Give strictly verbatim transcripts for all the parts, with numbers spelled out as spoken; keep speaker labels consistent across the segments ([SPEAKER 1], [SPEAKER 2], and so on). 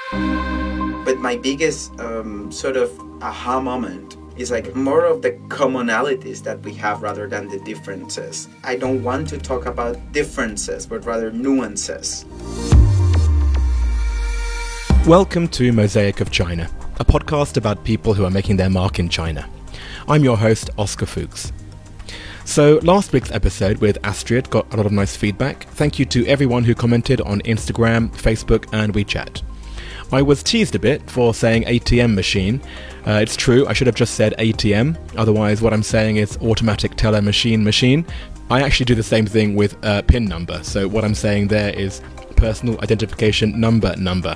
[SPEAKER 1] But my biggest um, sort of aha moment is like more of the commonalities that we have rather than the differences. I don't want to talk about differences, but rather nuances.
[SPEAKER 2] Welcome to Mosaic of China, a podcast about people who are making their mark in China. I'm your host, Oscar Fuchs. So last week's episode with Astrid got a lot of nice feedback. Thank you to everyone who commented on Instagram, Facebook and WeChat. I was teased a bit for saying A T M machine. Uh, it's true, I should have just said A T M, otherwise what I'm saying is automatic teller machine machine. I actually do the same thing with uh, PIN number, so what I'm saying there is personal identification number number.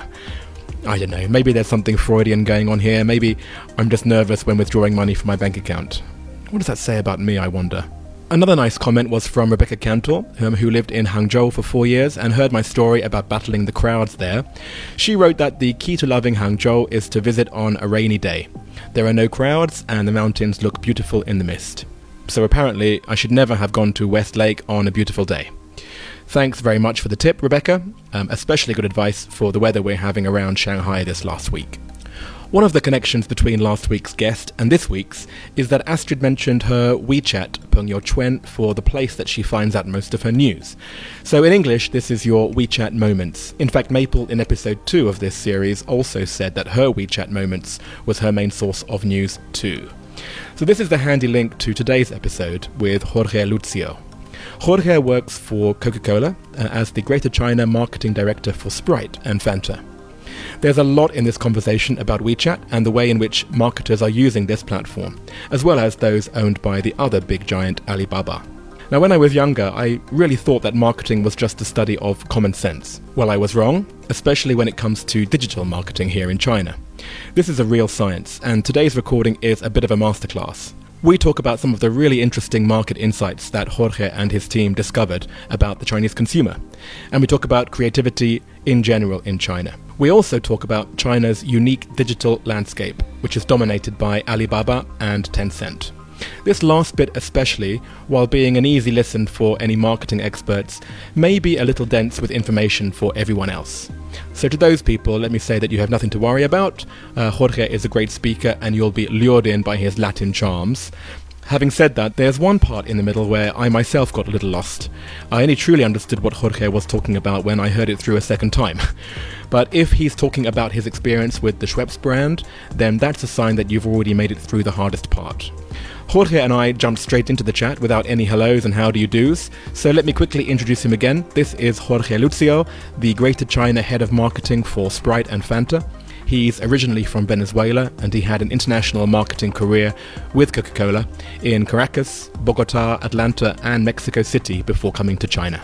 [SPEAKER 2] I don't know, maybe there's something Freudian going on here, maybe I'm just nervous when withdrawing money from my bank account. What does that say about me, I wonder? Another nice comment was from Rebecca Cantor, um, who lived in Hangzhou for four years and heard my story about battling the crowds there. She wrote that the key to loving Hangzhou is to visit on a rainy day. There are no crowds and the mountains look beautiful in the mist. So apparently I should never have gone to Westlake on a beautiful day. Thanks very much for the tip, Rebecca. Um, especially good advice for the weather we're having around Shanghai this last week. One of the connections between last week's guest and this week's is that Astrid mentioned her WeChat Pengyou Chuan for the place that she finds out most of her news. So in English, this is your WeChat Moments. In fact, Maple in episode two of this series also said that her WeChat Moments was her main source of news too. So this is the handy link to today's episode with Jorge Lucio. Jorge works for Coca-Cola uh, as the Greater China Marketing Director for Sprite and Fanta. There's a lot in this conversation about WeChat and the way in which marketers are using this platform, as well as those owned by the other big giant Alibaba. Now, when I was younger, I really thought that marketing was just a study of common sense. Well, I was wrong, especially when it comes to digital marketing here in China. This is a real science, and today's recording is a bit of a masterclass. We talk about some of the really interesting market insights that Jorge and his team discovered about the Chinese consumer. And we talk about creativity in general in China. We also talk about China's unique digital landscape, which is dominated by Alibaba and Tencent. This last bit especially, while being an easy listen for any marketing experts, may be a little dense with information for everyone else. So to those people, let me say that you have nothing to worry about. Uh, Jorge is a great speaker and you'll be lured in by his Latin charms. Having said that, there's one part in the middle where I myself got a little lost. I only truly understood what Jorge was talking about when I heard it through a second time. But if he's talking about his experience with the Schweppes brand, then that's a sign that you've already made it through the hardest part. Jorge and I jumped straight into the chat without any hellos and how do you do's, so let me quickly introduce him again. This is Jorge Lucio, the Greater China Head of Marketing for Sprite and Fanta. He's originally from Venezuela and he had an international marketing career with Coca-Cola in Caracas, Bogota, Atlanta and Mexico City before coming to China.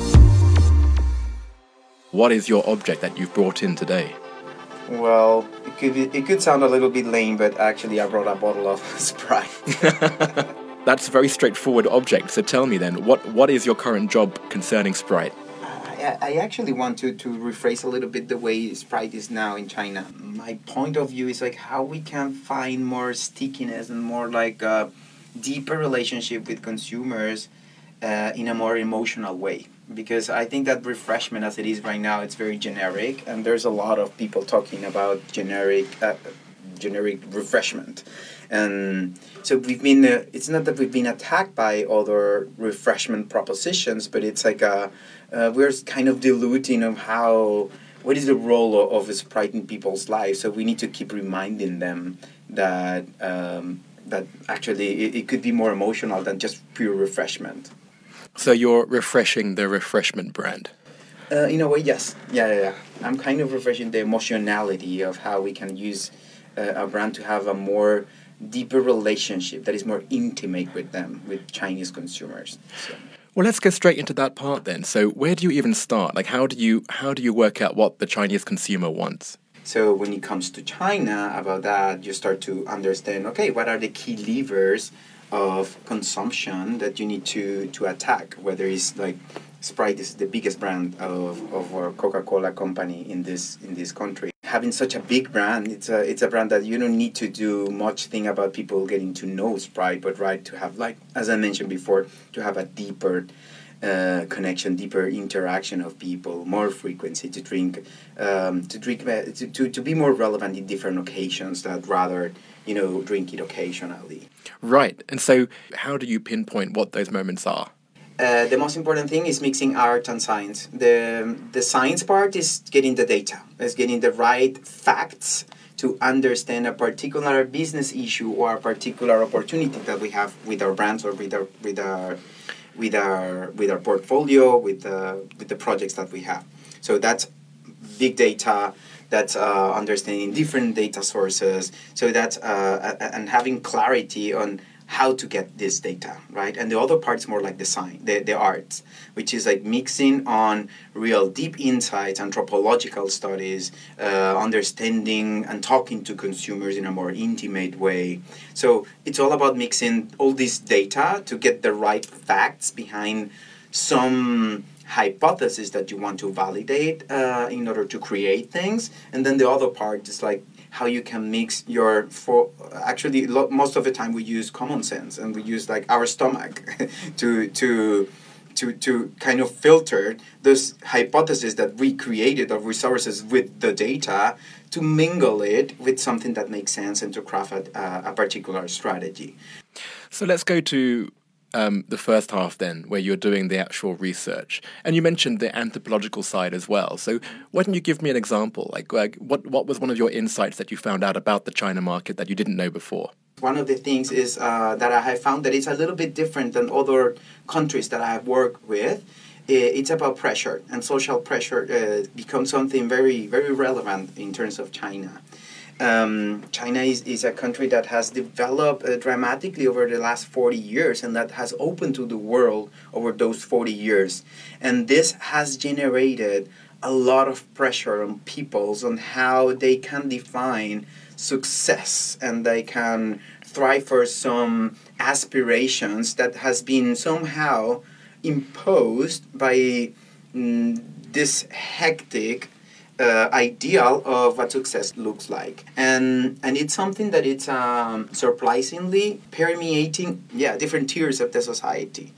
[SPEAKER 2] What is your object that you've brought in today?
[SPEAKER 1] Well, it could be, it could sound a little bit lame, but actually I brought a bottle of Sprite.
[SPEAKER 2] That's a very straightforward object. So tell me then, what, what is your current job concerning Sprite?
[SPEAKER 1] I, I actually want to, to rephrase a little bit the way Sprite is now in China. My point of view is like how we can find more stickiness and more like a deeper relationship with consumers uh, in a more emotional way. Because I think that refreshment as it is right now, it's very generic, and there's a lot of people talking about generic uh, generic refreshment. And so we've been, uh, it's not that we've been attacked by other refreshment propositions, but it's like a, uh, we're kind of diluting of how, what is the role of, of Sprite in people's lives. So we need to keep reminding them that um, that actually it, it could be more emotional than just pure refreshment.
[SPEAKER 2] So you're refreshing the refreshment brand?
[SPEAKER 1] Uh, in a way, yes. Yeah, yeah, yeah. I'm kind of refreshing the emotionality of how we can use uh, a brand to have a more deeper relationship that is more intimate with them, with Chinese consumers. So.
[SPEAKER 2] Well, let's go straight into that part then. So where do you even start? Like, how do you how do you work out what the Chinese consumer wants?
[SPEAKER 1] So when it comes to China, about that, you start to understand, okay, what are the key levers of consumption that you need to, to attack, whether it's like Sprite is the biggest brand of, of our Coca-Cola company in this in this country. Having such a big brand, it's a it's a brand that you don't need to do much thing about people getting to know Sprite, but right to have, like as I mentioned before, to have a deeper uh, connection, deeper interaction of people, more frequency to drink, um, to drink uh, to, to to be more relevant in different occasions that rather you know drink it occasionally.
[SPEAKER 2] Right. And so, how do you pinpoint what those moments are?
[SPEAKER 1] Uh, the most important thing is mixing art and science. The the science part is getting the data, is getting the right facts to understand a particular business issue or a particular opportunity that we have with our brands or with our with our with our with our portfolio, with the with the projects that we have. So that's big data. That's uh, understanding different data sources. So that's uh, and having clarity on how to get this data, right? And the other part's more like the science, the, the arts, which is like mixing on real deep insights, anthropological studies, uh, understanding and talking to consumers in a more intimate way. So it's all about mixing all this data to get the right facts behind some hypothesis that you want to validate uh, in order to create things. And then the other part is like how you can mix your, for actually lo- most of the time we use common sense and we use like our stomach to to to to kind of filter those hypotheses that we created of resources with the data to mingle it with something that makes sense and to craft a, a particular strategy.
[SPEAKER 2] So let's go to Um, the first half then, where you're doing the actual research. And you mentioned the anthropological side as well. So why don't you give me an example? Like, like what, what was one of your insights that you found out about the China market that you didn't know before?
[SPEAKER 1] One of the things is uh, that I have found that it's a little bit different than other countries that I have worked with. It's about pressure, and social pressure uh, becomes something very, very relevant in terms of China. Um, China is, is a country that has developed uh, dramatically over the last forty years and that has opened to the world over those forty years. And this has generated a lot of pressure on peoples on how they can define success and they can thrive for some aspirations that has been somehow imposed by mm, this hectic Uh, ideal of what success looks like, and and it's something that it's um, surprisingly permeating, yeah, different tiers of the society,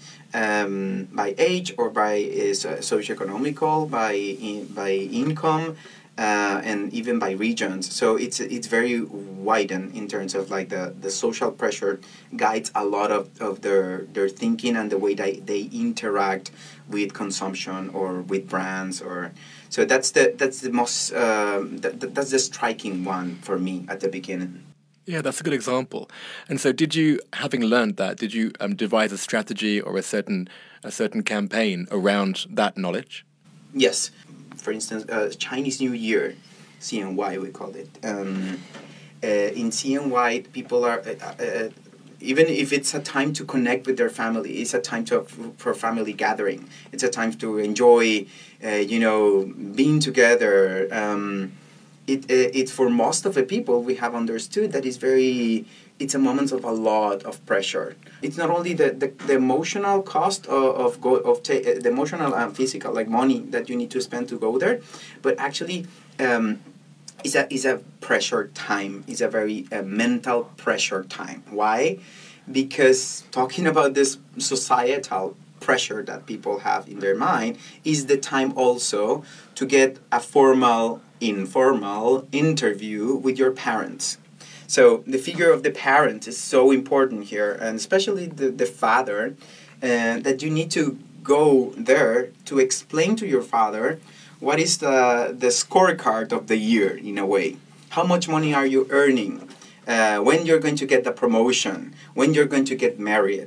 [SPEAKER 1] um, by age or by uh, socioeconomical, by in, by income, uh, and even by regions. So it's it's very widened in terms of like the, the social pressure guides a lot of, of their their thinking and the way they, they interact with consumption or with brands or. So that's the that's the most um, that, that's the striking one for me at the beginning.
[SPEAKER 2] Yeah, that's a good example. And so, did you, having learned that, did you um, devise a strategy or a certain a certain campaign around that knowledge?
[SPEAKER 1] Yes, for instance, uh, Chinese New Year, C N Y we call it. Um, uh, in C N Y, people are. Uh, uh, Even if it's a time to connect with their family, it's a time to for family gathering. It's a time to enjoy, uh, you know, being together. Um, it, it it's for most of the people we have understood that it's very. It's a moment of a lot of pressure. It's not only the, the, the emotional cost of of, go, of ta- the emotional and physical, like money that you need to spend to go there, but actually. Um, Is a is a pressure time. It's a very uh, mental pressure time. Why? Because talking about this societal pressure that people have in their mind is the time also to get a formal, informal interview with your parents. So the figure of the parent is so important here, and especially the, the father, uh, that you need to go there to explain to your father what is the, the scorecard of the year, in a way. How much money are you earning? Uh, when you're going to get the promotion? When you're going to get married?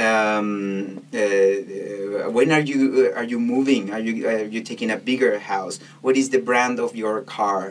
[SPEAKER 1] Um, uh, when are you uh, are you moving? Are you are you taking a bigger house? What is the brand of your car?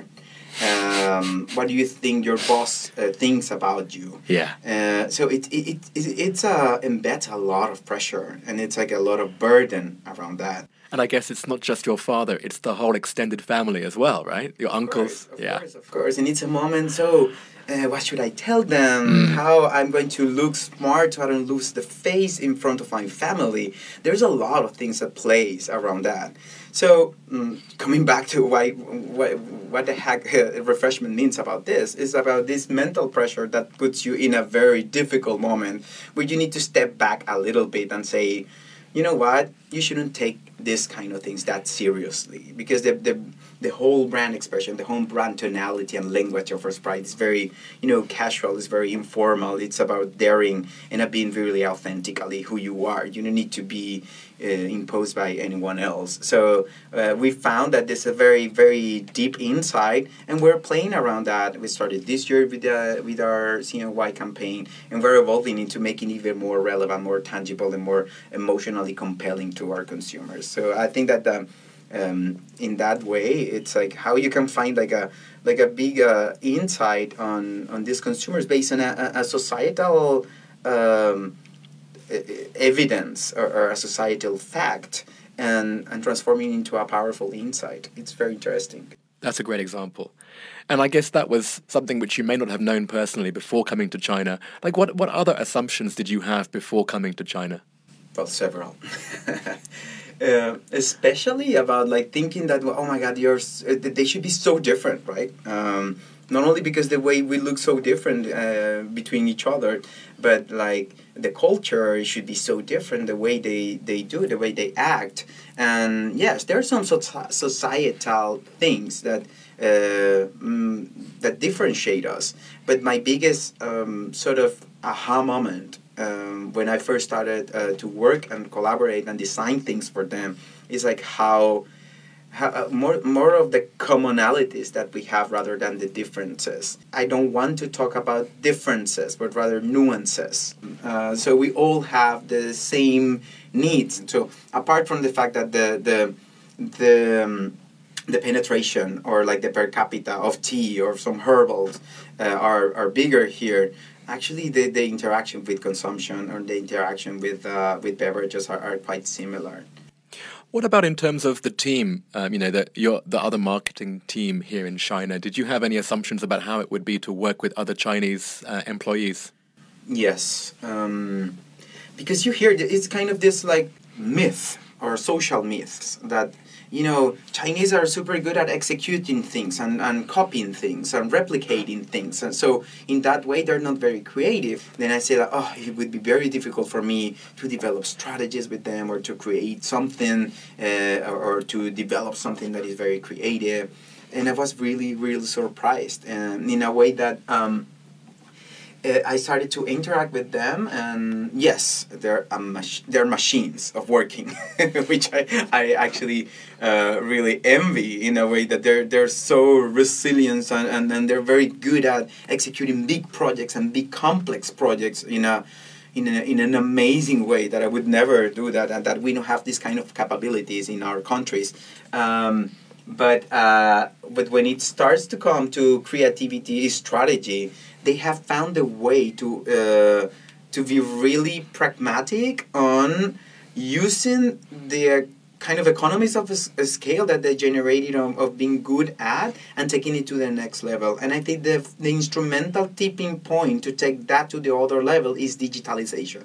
[SPEAKER 1] Um, what do you think your boss uh, thinks about you?
[SPEAKER 2] Yeah.
[SPEAKER 1] Uh, so it it, it, it it's uh, embeds a lot of pressure, and it's like a lot of burden around that.
[SPEAKER 2] And I guess it's not just your father, it's the whole extended family as well, right? Your
[SPEAKER 1] of
[SPEAKER 2] uncles.
[SPEAKER 1] Course, of
[SPEAKER 2] yeah.
[SPEAKER 1] course, of course. And it's a moment, so uh, what should I tell them?
[SPEAKER 2] Mm.
[SPEAKER 1] How I'm going to look smart so I don't lose the face in front of my family? There's a lot of things that plays around that. So um, coming back to why, why, what the heck uh, refreshment means about this is about this mental pressure that puts you in a very difficult moment where you need to step back a little bit and say, you know what, you shouldn't take this kind of things that seriously, because the the the whole brand expression, the whole brand tonality and language of our Sprite is very, you know, casual, it's very informal, it's about daring and uh, being really authentically who you are. You don't need to be uh, imposed by anyone else. So uh, we found that there's a very, very deep insight, and we're playing around that. We started this year with, uh, with our C N Y campaign, and we're evolving into making it even more relevant, more tangible, and more emotionally compelling to our consumers. So I think that the Um, in that way, it's like how you can find like a like a big uh, insight on, on these consumers based on a, a societal um, evidence or, or a societal fact, and, and transforming into a powerful insight. It's very interesting.
[SPEAKER 2] That's a great example. And I guess that was something which you may not have known personally before coming to China. Like, what, what other assumptions did you have before coming to China?
[SPEAKER 1] Well, several. Uh, especially about like thinking that, well, oh my God, yours uh, they should be so different, right? Um, not only because the way we look so different uh, between each other, but like the culture should be so different, the way they, they do, the way they act. And yes, there are some so- societal things that uh, mm, that differentiate us. But my biggest um, sort of aha moment Um, when I first started uh, to work and collaborate and design things for them, is like how, how uh, more more of the commonalities that we have rather than the differences. I don't want to talk about differences, but rather nuances. Uh, so we all have the same needs. So apart from the fact that the the the um, the penetration or like the per capita of tea or some herbals uh, are are bigger here. Actually, the, the interaction with consumption or the interaction with uh, with beverages are, are quite similar.
[SPEAKER 2] What about in terms of the team? Um, you know, the your the other marketing team here in China. Did you have any assumptions about how it would be to work with other Chinese uh, employees?
[SPEAKER 1] Yes, um, because you hear it's kind of this like myth or social myths that, you know, Chinese are super good at executing things and, and copying things and replicating things. And so in that way, they're not very creative. Then I say that, oh, it would be very difficult for me to develop strategies with them or to create something uh, or, or to develop something that is very creative. And I was really, really surprised. And in a way that um, uh, I started to interact with them, and yes, they're a mach- they're machines of working, which I I actually uh, really envy in a way that they're they're so resilient and, and, and they're very good at executing big projects and big complex projects in a in a, in an amazing way that I would never do that, and that we don't have this kind of capabilities in our countries. Um, but uh, but when it starts to come to creativity, strategy, they have found a way to uh, to be really pragmatic on using the kind of economies of a, a scale that they generated of, of being good at and taking it to the next level. And I think the the instrumental tipping point to take that to the other level is digitalization.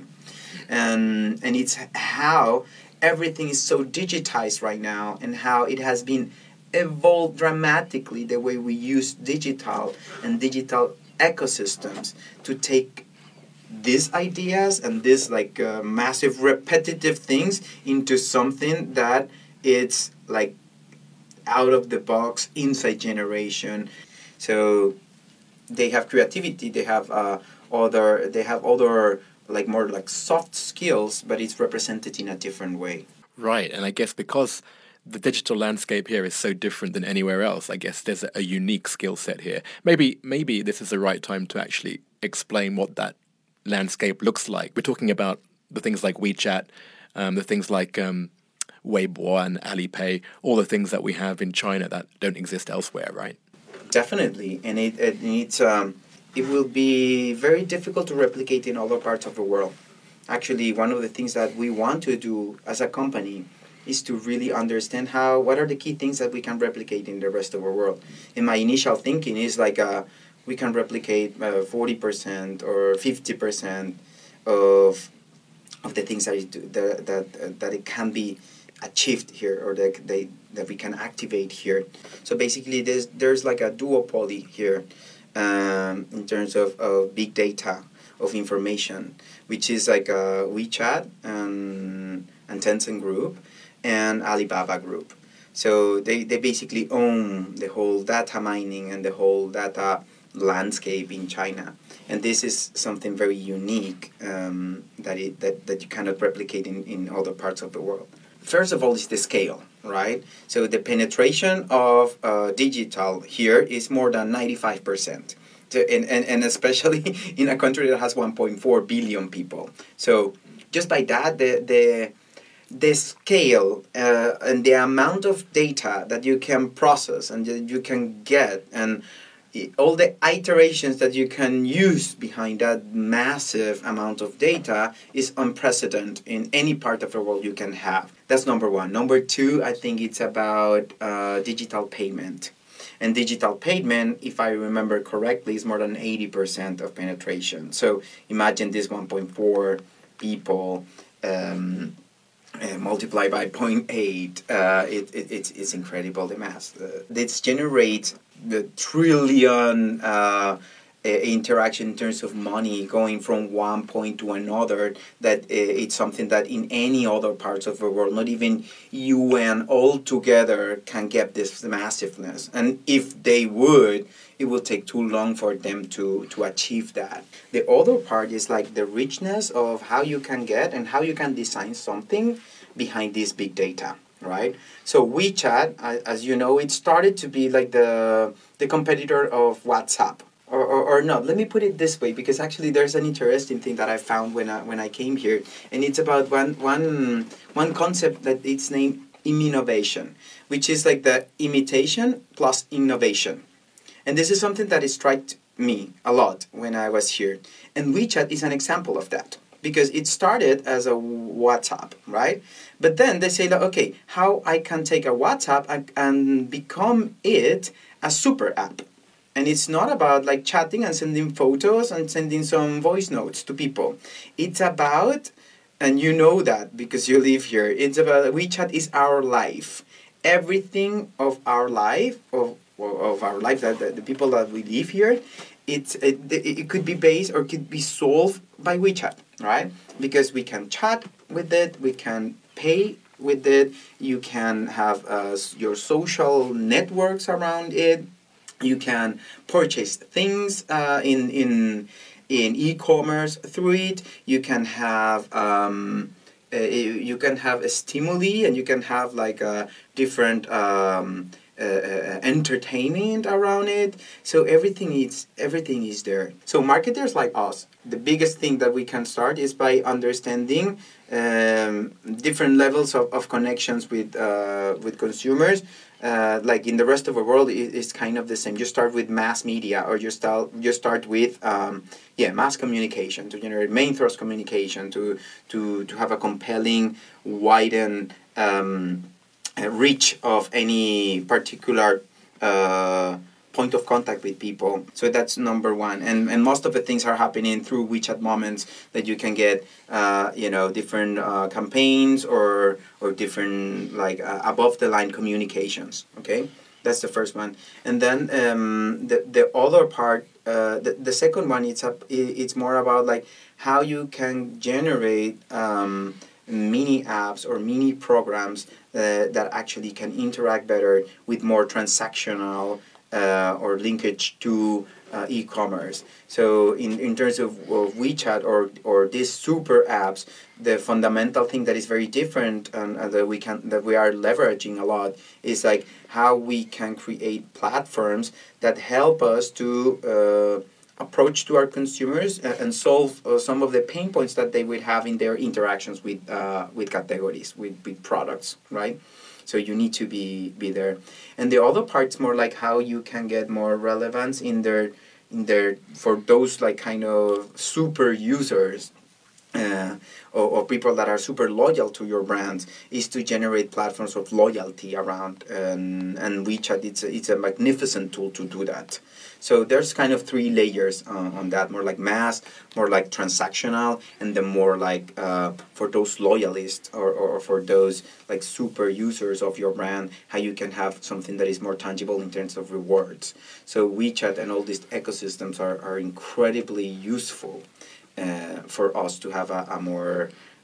[SPEAKER 1] And and it's how everything is so digitized right now, and how it has been evolved dramatically, the way we use digital and digital ecosystems to take these ideas and these like uh, massive repetitive things into something that it's like out of the box, inside generation. So they have creativity, they have uh, other they have other like more like soft skills, but it's represented in a different way.
[SPEAKER 2] Right, and I guess because the digital landscape here is so different than anywhere else, I guess there's a, a unique skill set here. Maybe maybe this is the right time to actually explain what that landscape looks like. We're talking about the things like WeChat, um, the things like um, Weibo and Alipay, all the things that we have in China that don't exist elsewhere, right?
[SPEAKER 1] Definitely, and it, it it's um, it will be very difficult to replicate in other parts of the world. Actually, one of the things that we want to do as a company is to really understand how what are the key things that we can replicate in the rest of the world. And my initial thinking is like uh, we can replicate uh, forty percent or fifty percent of of the things that it, that that uh, that it can be achieved here, or that they that we can activate here. So basically, there's there's like a duopoly here um, in terms of, of big data of information, which is like uh, WeChat and and Tencent Group, and Alibaba Group. So they, they basically own the whole data mining and the whole data landscape in China. And this is something very unique um, that, it, that, that you cannot replicate in, in other parts of the world. First of all is the scale, right? So the penetration of uh, digital here is more than ninety-five percent. To, and, and, and especially in a country that has one point four billion people. So just by that, the the, the scale uh, and the amount of data that you can process and that you can get, and all the iterations that you can use behind that massive amount of data is unprecedented in any part of the world you can have. That's number one. Number two, I think it's about uh, digital payment. And digital payment, if I remember correctly, is more than eighty percent of penetration. So imagine this one point four people um, uh, multiplied by zero point eight. Uh, it, it, it's, it's incredible, the math. Uh, this generates the trillion uh, uh, interaction in terms of money going from one point to another, that uh, it's something that in any other parts of the world, not even U N altogether can get this massiveness. And if they would, it will take too long for them to, to achieve that. The other part is like the richness of how you can get and how you can design something behind this big data. Right, so WeChat, as you know, it started to be like the the competitor of WhatsApp, or, or or not. Let me put it this way, because actually there's an interesting thing that I found when I when I came here, and it's about one one one concept that it's named immunovation, which is like the imitation plus innovation, and this is something that struck me a lot when I was here, and WeChat is an example of that. Because it started as a WhatsApp, right? But then they say, like, okay, how I can take a WhatsApp and, and become it a super app. And it's not about like chatting and sending photos and sending some voice notes to people. It's about, and you know that because you live here, it's about WeChat is our life. Everything of our life, of, of our life, that the, the people that we live here, It's, it, it could be based or could be solved by WeChat, right? Because we can chat with it, we can pay with it, you can have uh, your social networks around it, you can purchase things uh, in, in, in e-commerce through it, you can have... Um, uh, you can have a stimuli and you can have like a different... Um, Uh, uh, entertainment around it, so everything is everything is there. So marketers like us, the biggest thing that we can start is by understanding um, different levels of, of connections with uh, with consumers. Uh, like in the rest of the world, it, it's kind of the same. You start with mass media, or you start you start with um, yeah mass communication to generate main thrust communication to to to have a compelling, widened. Um, reach of any particular uh, point of contact with people. So that's number one. And and most of the things are happening through WeChat Moments, that you can get, uh, you know, different uh, campaigns or or different like uh, above the line communications. Okay, that's the first one. And then um, the the other part, uh, the the second one, it's a, it's more about like how you can generate. Um, mini apps or mini programs uh, that actually can interact better with more transactional uh, or linkage to uh, e-commerce. So in, in terms of, of WeChat or or these super apps, the fundamental thing that is very different and uh, that we can that we are leveraging a lot is like how we can create platforms that help us to uh, approach to our consumers and solve uh, some of the pain points that they would have in their interactions with uh, with categories, with, with products, right? So you need to be be there. And the other part's more like how you can get more relevance in their in their for those like kind of super users. Uh, or, or people that are super loyal to your brands, is to generate platforms of loyalty around, and and WeChat it's a, it's a magnificent tool to do that. So there's kind of three layers uh, on that, more like mass, more like transactional, and then more like uh, for those loyalists or, or for those like super users of your brand, how you can have something that is more tangible in terms of rewards. So WeChat and all these ecosystems are, are incredibly useful Uh, for us to have a, a more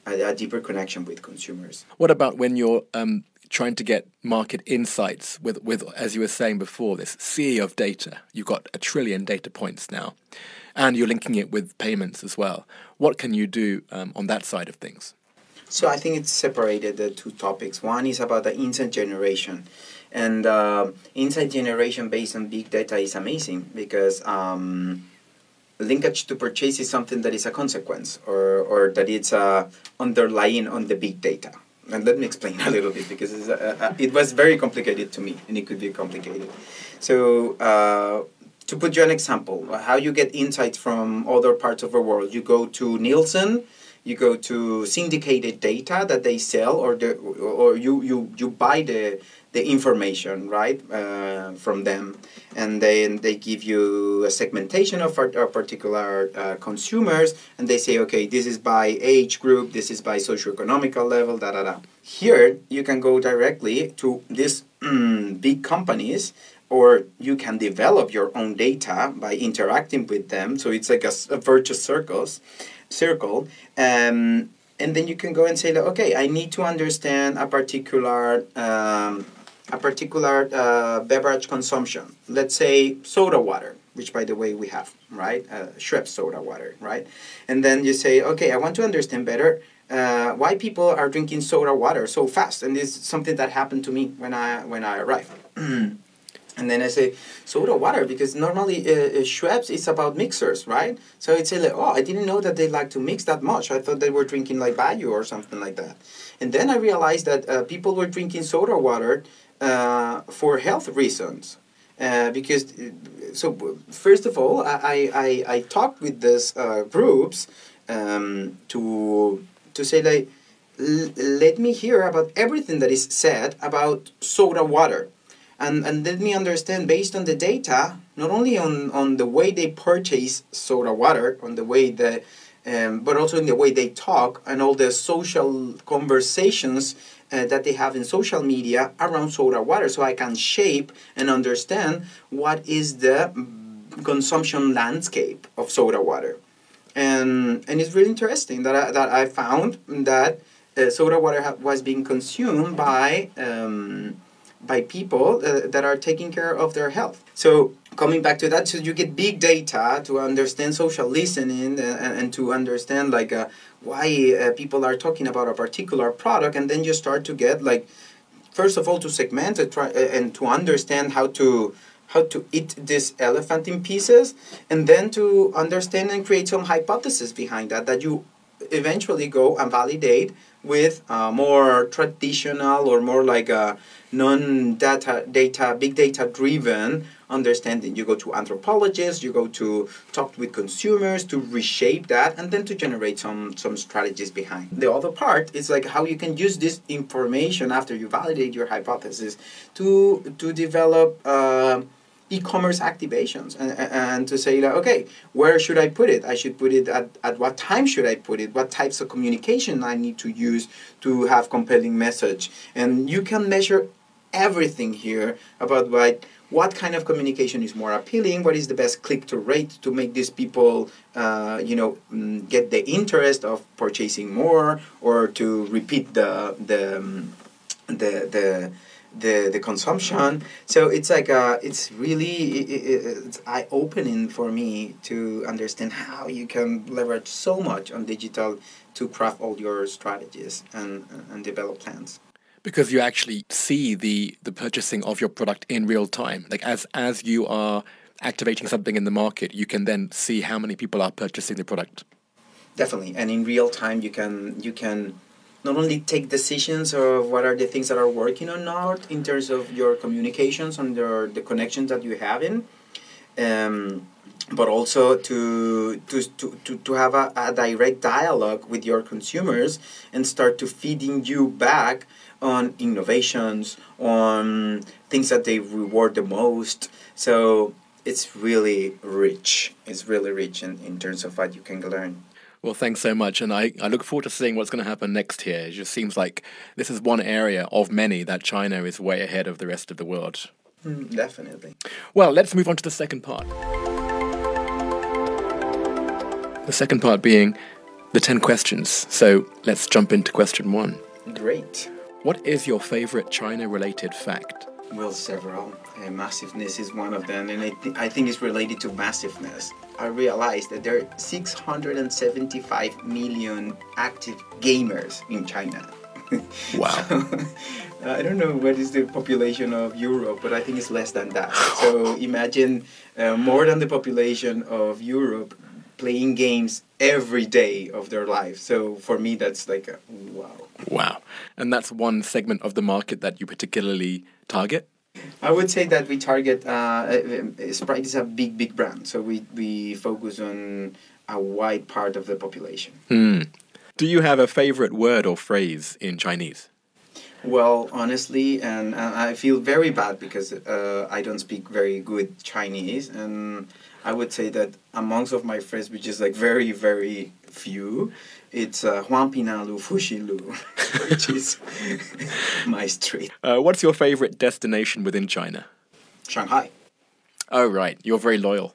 [SPEAKER 1] a, a deeper connection with consumers.
[SPEAKER 2] What about when you're um, trying to get market insights with, with, as you were saying before, this sea of data? You've got a trillion data points now, and you're linking it with payments as well. What can you do um, on that side of things?
[SPEAKER 1] So I think it's separated the two topics. One is about the insight generation. And uh, insight generation based on big data is amazing because um, linkage to purchase is something that is a consequence or, or that it's uh, underlying on the big data. And let me explain a little bit because it's, uh, uh, it was very complicated to me and it could be complicated. So uh, to put you an example, how you get insights from other parts of the world, you go to Nielsen, you go to syndicated data that they sell or the, or you, you, you buy the the information, right, uh, from them. And then they give you a segmentation of our, our particular uh, consumers, and they say, okay, this is by age group, this is by socioeconomical level, da da da. Here, you can go directly to these mm, big companies, or you can develop your own data by interacting with them. So it's like a, a virtuous circles, circle. Um, and then you can go and say, like, okay, I need to understand a particular um, a particular uh, beverage consumption. Let's say soda water, which by the way we have, right? Uh, Schweppes soda water, right? And then you say, okay, I want to understand better uh, why people are drinking soda water so fast. And this is something that happened to me when I when I arrived. And then I say, soda water, because normally uh, Schweppes is about mixers, right? So I'd say, like, oh, I didn't know that they like to mix that much. I thought they were drinking like Bayou or something like that. And then I realized that uh, people were drinking soda water uh, for health reasons. Uh, because, so first of all, I, I, I talked with these uh, groups um, to, to say, like, l- let me hear about everything that is said about soda water. And and let me understand based on the data, not only on, on the way they purchase soda water, on the way the, um, but also in the way they talk and all the social conversations uh, that they have in social media around soda water, so I can shape and understand what is the consumption landscape of soda water. And and it's really interesting that I, that I found that uh, soda water ha- was being consumed by Um, by people uh, that are taking care of their health. So coming back to that, so you get big data to understand social listening and, and to understand like uh, why uh, people are talking about a particular product, and then you start to get like, first of all, to segment it try, uh, and to understand how to how to eat this elephant in pieces, and then to understand and create some hypothesis behind that that you eventually go and validate with uh, more traditional or more like a non-data, data, big data driven understanding. You go to anthropologists, you go to talk with consumers to reshape that and then to generate some, some strategies behind. The other part is like how you can use this information after you validate your hypothesis to, to develop uh, e-commerce activations and, and to say, like, okay, where should I put it? I should put it at, at what time should I put it? What types of communication I need to use to have compelling message? And you can measure everything here about what, what kind of communication is more appealing, what is the best click-to rate to make these people, uh, you know, get the interest of purchasing more or to repeat the, the, the, the, the the consumption. So it's like uh it's really it, it's eye-opening for me to understand how you can leverage so much on digital to craft all your strategies and and develop plans.
[SPEAKER 2] Because you actually see the the purchasing of your product in real time. Like as as you are activating something in the market, you can then see how many people are purchasing the product.
[SPEAKER 1] Definitely, and in real time you can you can not only take decisions of what are the things that are working or not in terms of your communications and the, the connections that you have in, um, but also to to to, to, to have a, a direct dialogue with your consumers and start to feeding you back on innovations, on things that they reward the most. So it's really rich. It's really rich in, in terms of what you can learn.
[SPEAKER 2] Well, thanks so much, and I, I look forward to seeing what's going to happen next here. It just seems like this is one area of many that China is way ahead of the rest of the world.
[SPEAKER 1] Mm, definitely.
[SPEAKER 2] Well, let's move on to the second part. The second part being, the ten questions. So let's jump into question one.
[SPEAKER 1] Great.
[SPEAKER 2] What is your favorite China-related fact?
[SPEAKER 1] Well, several. Uh, massiveness is one of them, and I, th- I think it's related to massiveness. I realized that there are six hundred seventy-five million active gamers in China.
[SPEAKER 2] Wow.
[SPEAKER 1] So, I don't know what is the population of Europe, but I think it's less than that. So imagine uh, more than the population of Europe playing games every day of their life. So for me, that's like a wow.
[SPEAKER 2] Wow. And that's one segment of the market that you particularly target?
[SPEAKER 1] I would say that we target, uh, uh, Sprite is a big, big brand. So we, we focus on a wide part of the population.
[SPEAKER 2] Hmm. Do you have a favorite word or phrase in Chinese?
[SPEAKER 1] Well, honestly, and, and I feel very bad because uh, I don't speak very good Chinese. And I would say that amongst of my friends, which is like very, very few, it's uh, Huang Pina Lu Fuxi Lu, which is my street.
[SPEAKER 2] Uh, what's your favorite destination within China?
[SPEAKER 1] Shanghai.
[SPEAKER 2] Oh, right. You're very loyal.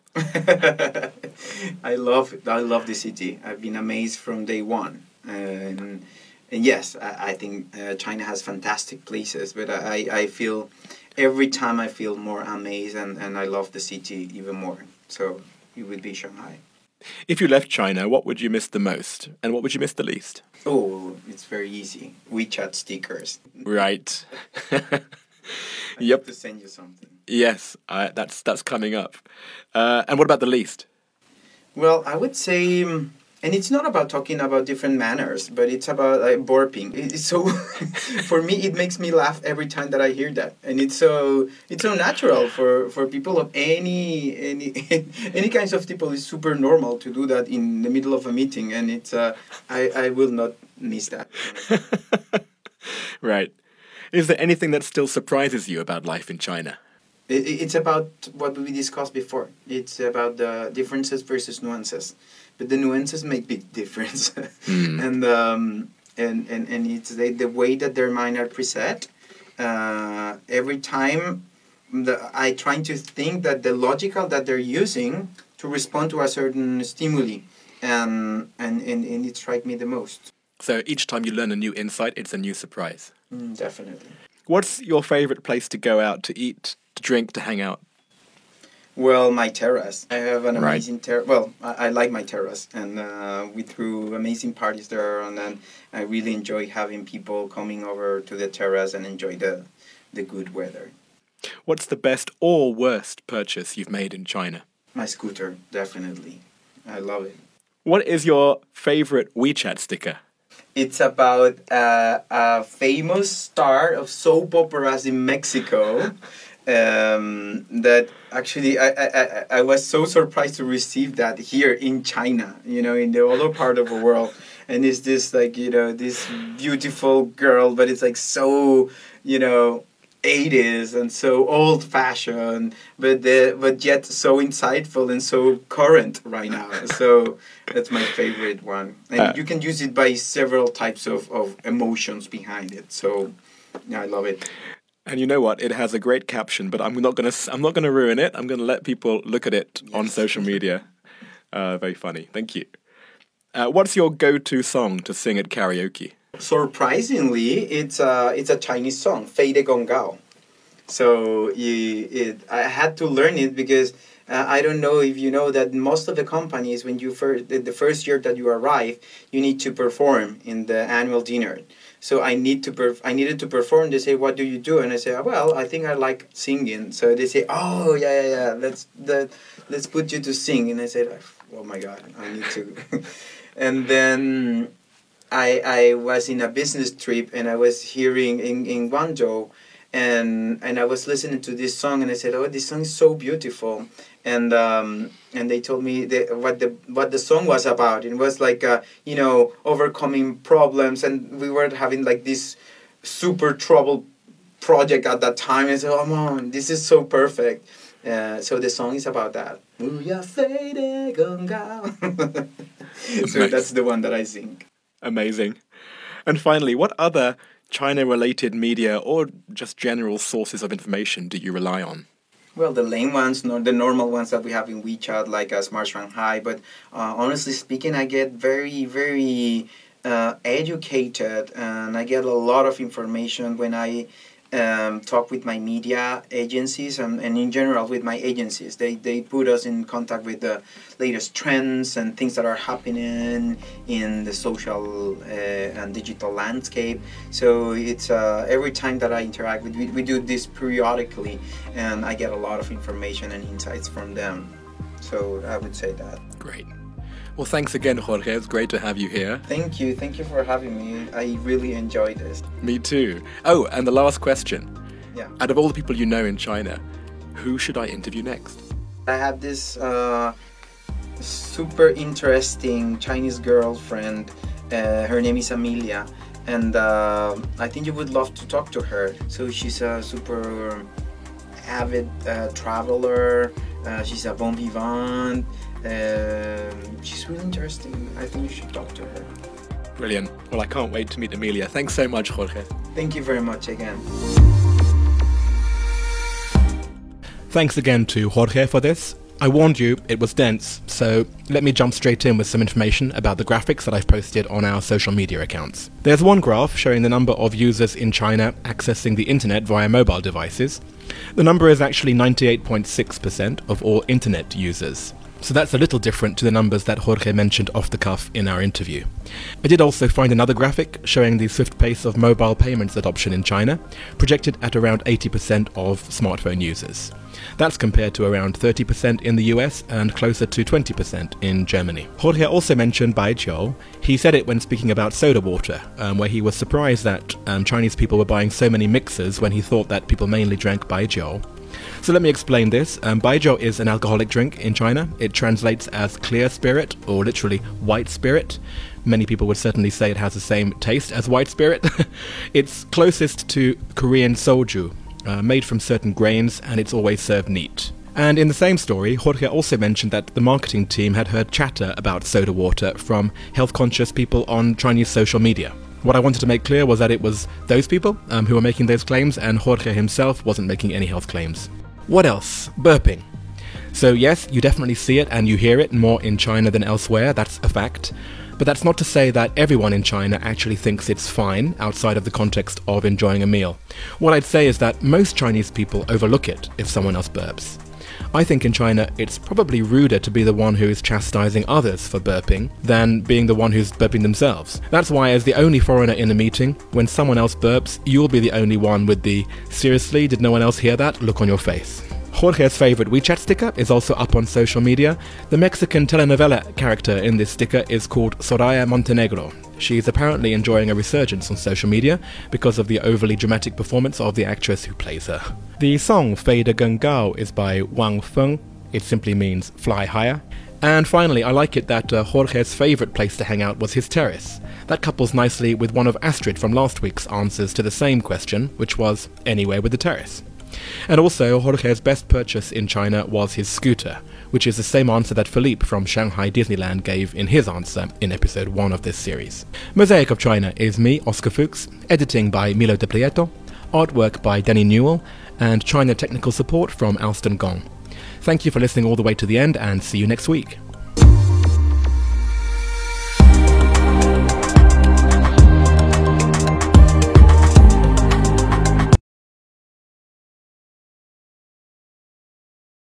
[SPEAKER 1] I love I love the city. I've been amazed from day one. And, and yes, I, I think uh, China has fantastic places, but I, I feel every time I feel more amazed and, and I love the city even more. So it would be Shanghai.
[SPEAKER 2] If you left China, what would you miss the most? And what would you miss the least?
[SPEAKER 1] Oh, it's very easy. WeChat stickers.
[SPEAKER 2] Right.
[SPEAKER 1] I
[SPEAKER 2] Yep.
[SPEAKER 1] have to send you something.
[SPEAKER 2] Yes, uh, that's that's coming up. Uh, and what about the least?
[SPEAKER 1] Well, I would say, um, and it's not about talking about different manners, but it's about like, burping. It's so, for me, it makes me laugh every time that I hear that, and it's so it's so natural for, for people of any any any kinds of people. It's super normal to do that in the middle of a meeting, and it's uh, I I will not miss that.
[SPEAKER 2] Right. Is there anything that still surprises you about life in China?
[SPEAKER 1] It, it's about what we discussed before. It's about the differences versus nuances, but the nuances make big difference,
[SPEAKER 2] Mm.
[SPEAKER 1] and um, and and and it's the, the way that their mind are preset. Uh, every time, the, I trying to think that the logical that they're using to respond to a certain stimuli, and and and, and it strike me the most.
[SPEAKER 2] So each time you learn a new insight, it's a new surprise.
[SPEAKER 1] Mm, definitely.
[SPEAKER 2] What's your favorite place to go out to eat, to drink, to hang out?
[SPEAKER 1] Well, my terrace. I have an
[SPEAKER 2] Right.
[SPEAKER 1] amazing terrace. Well, I, I like my terrace, and uh, we threw amazing parties there, and then I really enjoy having people coming over to the terrace and enjoy the the good weather.
[SPEAKER 2] What's the best or worst purchase you've made in China?
[SPEAKER 1] My scooter, definitely. I love it.
[SPEAKER 2] What is your favorite WeChat sticker?
[SPEAKER 1] It's about uh, a famous star of soap operas in Mexico. Um, that actually I, I, I, I was so surprised to receive that here in China, you know, in the other part of the world. And it's this like, you know, this beautiful girl, but it's like so, you know, eighties and so old fashioned, but the, but yet so insightful and so current right now. So that's my favorite one. And
[SPEAKER 2] Uh,
[SPEAKER 1] you can use it by several types of, of emotions behind it. So yeah, I love it.
[SPEAKER 2] And you know what? It has a great caption, but I'm not gonna. I'm not gonna ruin it. I'm gonna let people look at it on
[SPEAKER 1] Yes.
[SPEAKER 2] social media. Uh, very funny. Thank you. Uh, what's your go-to song to sing at karaoke?
[SPEAKER 1] Surprisingly, it's a it's a Chinese song, Fei de Gong Gao. So you, it, I had to learn it because uh, I don't know if you know that most of the companies, when you first the, the first year that you arrive, you need to perform in the annual dinner. So I need to perf- I needed to perform. They say, "What do you do?" And I say, "Well, I think I like singing." So they say, "Oh yeah yeah yeah, let's the, let's put you to sing." And I said, "Oh my God, I need to." And then I I was in a business trip and I was hearing in in Guangzhou. And and I was listening to this song and I said, "Oh, this song is so beautiful." And um, and they told me the, what the what the song was about. It was like uh, you know, overcoming problems, and we were having like this super troubled project at that time. And I said, "Oh man, this is so perfect." Uh, so the song is about that. So that's the one that I sing.
[SPEAKER 2] Amazing. And finally, what other China-related media or just general sources of information do you rely on?
[SPEAKER 1] Well, the lame ones, nor the normal ones that we have in WeChat, like uh, Smart Shanghai. But uh, honestly speaking, I get very, very uh, educated, and I get a lot of information when I um, talk with my media agencies and, and in general with my agencies. They they put us in contact with the latest trends and things that are happening in the social uh, and digital landscape. So it's uh, every time that I interact with, we, we do this periodically, and I get a lot of information and insights from them. So I would say that.
[SPEAKER 2] Great. Well, thanks again, Jorge. It's great to have you here.
[SPEAKER 1] Thank you. Thank you for having me. I really enjoyed this.
[SPEAKER 2] Me too. Oh, and the last question.
[SPEAKER 1] Yeah.
[SPEAKER 2] Out of all the people you know in China, who should I interview next?
[SPEAKER 1] I have this uh, super interesting Chinese girlfriend. Uh, her name is Amelia. And uh, I think you would love to talk to her. So she's a super avid uh, traveler. Uh, she's a bon vivant. Uh, she's really interesting. I think you should talk to her.
[SPEAKER 2] Brilliant. Well, I can't wait to meet Amelia. Thanks so much, Jorge.
[SPEAKER 1] Thank you very much again.
[SPEAKER 2] Thanks again to Jorge for this. I warned you it was dense, so let me jump straight in with some information about the graphics that I've posted on our social media accounts. There's one graph showing the number of users in China accessing the internet via mobile devices. The number is actually ninety-eight point six percent of all internet users. So that's a little different to the numbers that Jorge mentioned off the cuff in our interview. I did also find another graphic showing the swift pace of mobile payments adoption in China, projected at around eighty percent of smartphone users. That's compared to around thirty percent in the U S and closer to twenty percent in Germany. Jorge also mentioned baijiu. He said it when speaking about soda water, um, where he was surprised that um, Chinese people were buying so many mixers when he thought that people mainly drank baijiu. So let me explain this. Um, baijiu is an alcoholic drink in China. It translates as clear spirit, or literally white spirit. Many people would certainly say it has the same taste as white spirit. It's closest to Korean soju, uh, made from certain grains, and it's always served neat. And in the same story, Jorge also mentioned that the marketing team had heard chatter about soda water from health-conscious people on Chinese social media. What I wanted to make clear was that it was those people um, who were making those claims, and Jorge himself wasn't making any health claims. What else? Burping. So yes, you definitely see it and you hear it more in China than elsewhere, that's a fact. But that's not to say that everyone in China actually thinks it's fine outside of the context of enjoying a meal. What I'd say is that most Chinese people overlook it if someone else burps. I think in China it's probably ruder to be the one who is chastising others for burping than being the one who's burping themselves. That's why, as the only foreigner in a meeting, when someone else burps, you'll be the only one with the "seriously, did no one else hear that?" look on your face. Jorge's favourite WeChat sticker is also up on social media. The Mexican telenovela character in this sticker is called Soraya Montenegro. She's apparently enjoying a resurgence on social media because of the overly dramatic performance of the actress who plays her. The song Fei de Geng Gao is by Wang Feng. It simply means fly higher. And finally, I like it that uh, Jorge's favourite place to hang out was his terrace. That couples nicely with one of Astrid from last week's answers to the same question, which was anywhere with the terrace. And also, Jorge's best purchase in China was his scooter, which is the same answer that Philippe from Shanghai Disneyland gave in his answer in episode one of this series. Mosaic of China is me, Oscar Fuchs, editing by Milo De Prieto, artwork by Danny Newell, and China technical support from Alston Gong. Thank you for listening all the way to the end, and see you next week.